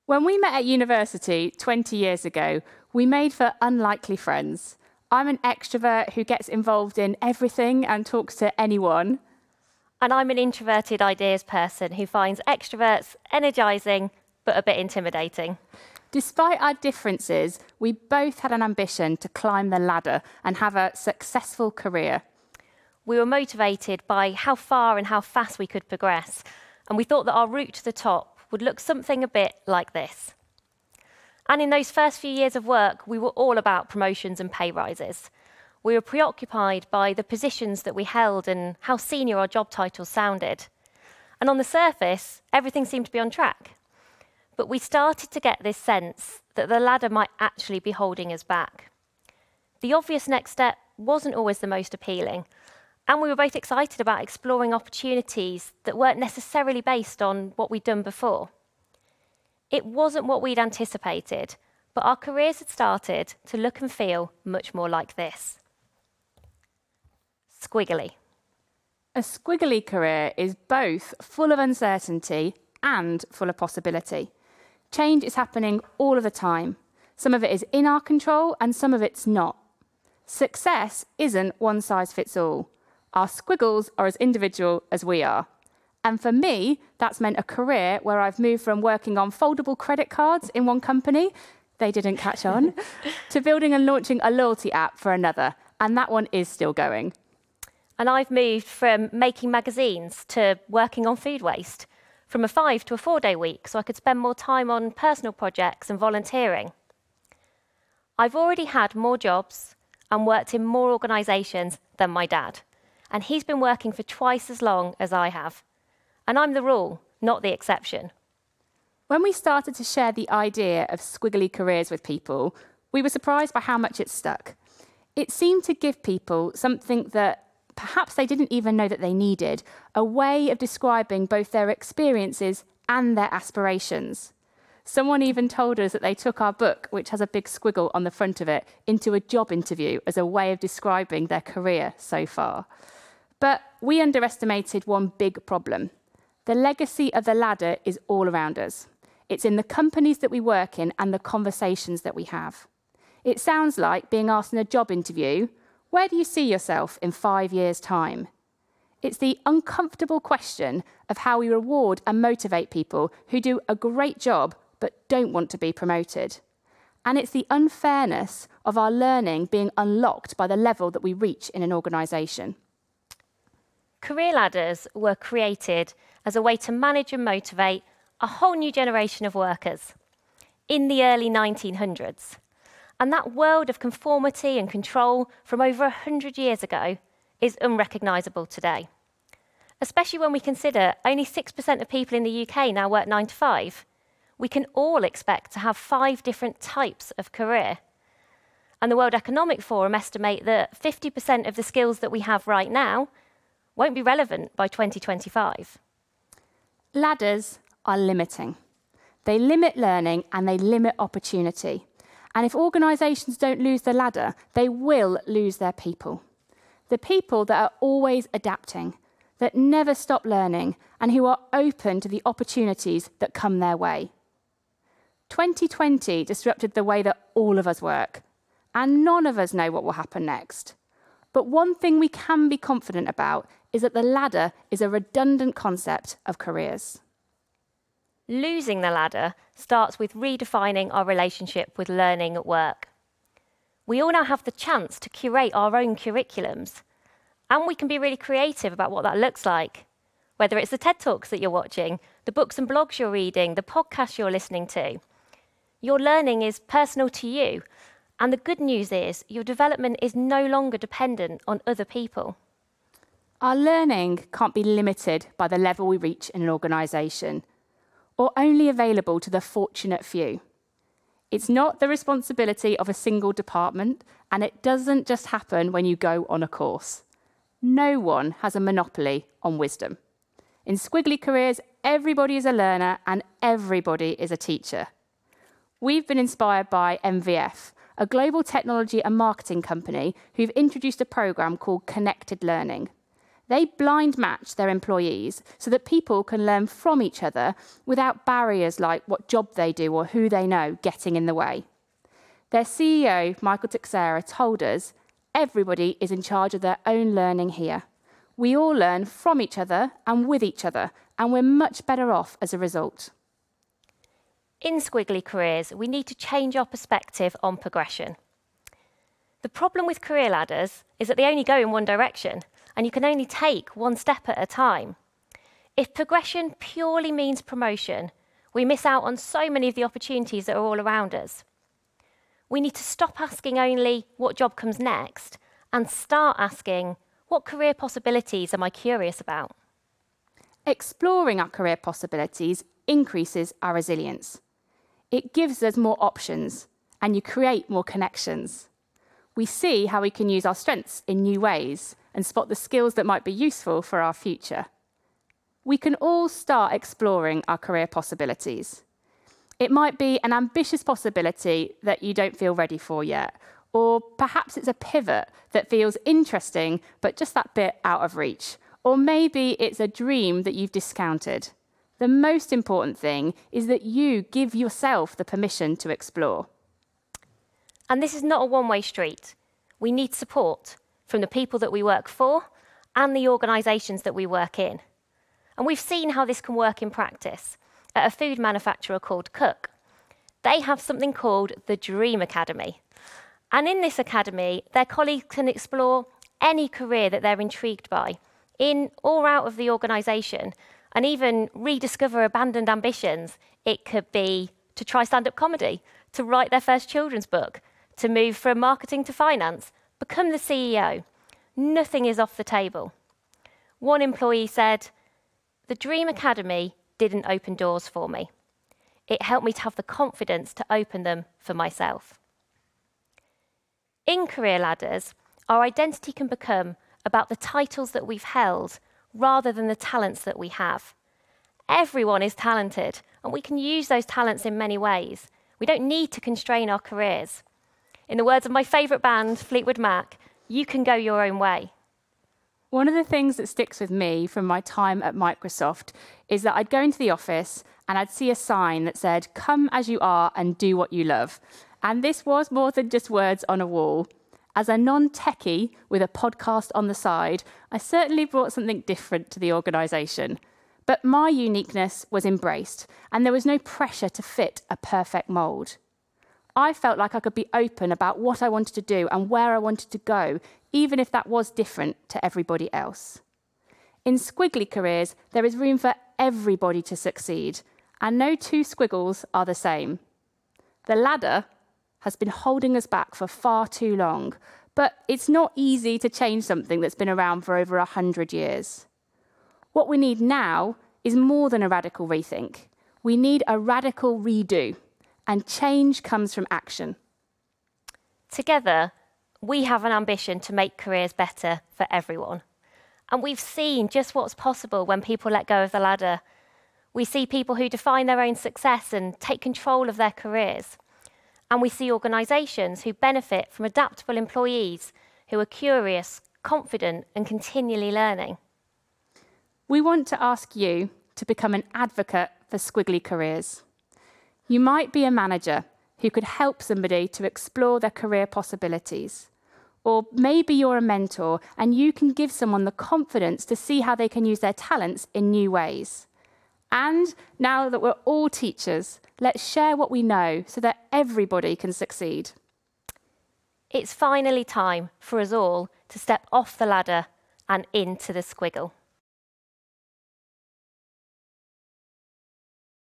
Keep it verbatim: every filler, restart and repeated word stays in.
When we met at university twenty years ago, we made for unlikely friends. I'm an extrovert who gets involved in everything and talks to anyone. And I'm an introverted ideas person who finds extroverts energising but a bit intimidating. Despite our differences, we both had an ambition to climb the ladder and have a successful career. We were motivated by how far and how fast we could progress, and we thought that our route to the top would look something a bit like this. And in those first few years of work, we were all about promotions and pay rises. We were preoccupied by the positions that we held and how senior our job titles sounded. And on the surface, everything seemed to be on track. But we started to get this sense that the ladder might actually be holding us back. The obvious next step wasn't always the most appealing, and we were both excited about exploring opportunities that weren't necessarily based on what we'd done before. It wasn't what we'd anticipated, but our careers had started to look and feel much more like this. Squiggly. A squiggly career is both full of uncertainty and full of possibility. Change is happening all of the time. Some of it is in our control and some of it's not. Success isn't one size fits all. Our squiggles are as individual as we are. And for me, that's meant a career where I've moved from working on foldable credit cards in one company, they didn't catch on, to building and launching a loyalty app for another. And that one is still going. And I've moved from making magazines to working on food waste, from a five to a four-day week so I could spend more time on personal projects and volunteering. I've already had more jobs and worked in more organisations than my dad, and he's been working for twice as long as I have. And I'm the rule, not the exception. When we started to share the idea of squiggly careers with people, we were surprised by how much it stuck. It seemed to give people something that perhaps they didn't even know that they needed, a way of describing both their experiences and their aspirations. Someone even told us that they took our book, which has a big squiggle on the front of it, into a job interview as a way of describing their career so far. But we underestimated one big problem. The legacy of the ladder is all around us. It's in the companies that we work in and the conversations that we have. It sounds like being asked in a job interview, where do you see yourself in five years' time? It's the uncomfortable question of how we reward and motivate people who do a great job but don't want to be promoted. And it's the unfairness of our learning being unlocked by the level that we reach in an organisation. Career ladders were created as a way to manage and motivate a whole new generation of workers in the early nineteen hundreds. And that world of conformity and control from over one hundred years ago is unrecognisable today. Especially when we consider only six percent of people in the U K now work nine to five. We can all expect to have five different types of career. And the World Economic Forum estimate that fifty percent of the skills that we have right now won't be relevant by twenty twenty-five. Ladders are limiting. They limit learning and they limit opportunity. And if organisations don't lose the ladder, they will lose their people. The people that are always adapting, that never stop learning, and who are open to the opportunities that come their way. twenty twenty disrupted the way that all of us work, and none of us know what will happen next. But one thing we can be confident about is that the ladder is a redundant concept of careers. Losing the ladder starts with redefining our relationship with learning at work. We all now have the chance to curate our own curriculums, and we can be really creative about what that looks like. Whether it's the TED Talks that you're watching, the books and blogs you're reading, the podcasts you're listening to. Your learning is personal to you, and the good news is your development is no longer dependent on other people. Our learning can't be limited by the level we reach in an organisation, or only available to the fortunate few. It's not the responsibility of a single department, and it doesn't just happen when you go on a course. No one has a monopoly on wisdom. In squiggly careers, everybody is a learner and everybody is a teacher. We've been inspired by M V F, a global technology and marketing company who've introduced a programme called Connected Learning. They blind match their employees so that people can learn from each other without barriers like what job they do or who they know getting in the way. Their C E O, Michael Teixeira, told us everybody is in charge of their own learning here. We all learn from each other and with each other, and we're much better off as a result. In Squiggly Careers, we need to change our perspective on progression. The problem with career ladders is that they only go in one direction, and you can only take one step at a time. If progression purely means promotion, we miss out on so many of the opportunities that are all around us. We need to stop asking only what job comes next and start asking, what career possibilities am I curious about? Exploring our career possibilities increases our resilience. It gives us more options, and you create more connections. We see how we can use our strengths in new ways and spot the skills that might be useful for our future. We can all start exploring our career possibilities. It might be an ambitious possibility that you don't feel ready for yet, or perhaps it's a pivot that feels interesting but just that bit out of reach, or maybe it's a dream that you've discounted. The most important thing is that you give yourself the permission to explore. And this is not a one-way street. We need support from the people that we work for and the organisations that we work in. And we've seen how this can work in practice at a food manufacturer called Cook. They have something called the Dream Academy. And in this academy, their colleagues can explore any career that they're intrigued by, in or out of the organisation, and even rediscover abandoned ambitions. It could be to try stand-up comedy, to write their first children's book, to move from marketing to finance, become the C E O. Nothing is off the table. One employee said, "The Dream Academy didn't open doors for me. It helped me to have the confidence to open them for myself." In career ladders, our identity can become about the titles that we've held rather than the talents that we have. Everyone is talented, and we can use those talents in many ways. We don't need to constrain our careers. In the words of my favourite band, Fleetwood Mac, you can go your own way. One of the things that sticks with me from my time at Microsoft is that I'd go into the office and I'd see a sign that said, "Come as you are and do what you love." And this was more than just words on a wall. As a non-techie with a podcast on the side, I certainly brought something different to the organisation. But my uniqueness was embraced, and there was no pressure to fit a perfect mould. I felt like I could be open about what I wanted to do and where I wanted to go, even if that was different to everybody else. In Squiggly Careers, there is room for everybody to succeed, and no two squiggles are the same. The ladder has been holding us back for far too long, but it's not easy to change something that's been around for over a hundred years. What we need now is more than a radical rethink. We need a radical redo, and change comes from action. Together, we have an ambition to make careers better for everyone. And we've seen just what's possible when people let go of the ladder. We see people who define their own success and take control of their careers. And we see organisations who benefit from adaptable employees who are curious, confident, and continually learning. We want to ask you to become an advocate for Squiggly Careers. You might be a manager who could help somebody to explore their career possibilities. Or maybe you're a mentor and you can give someone the confidence to see how they can use their talents in new ways. And now that we're all teachers, let's share what we know so that everybody can succeed. It's finally time for us all to step off the ladder and into the squiggle.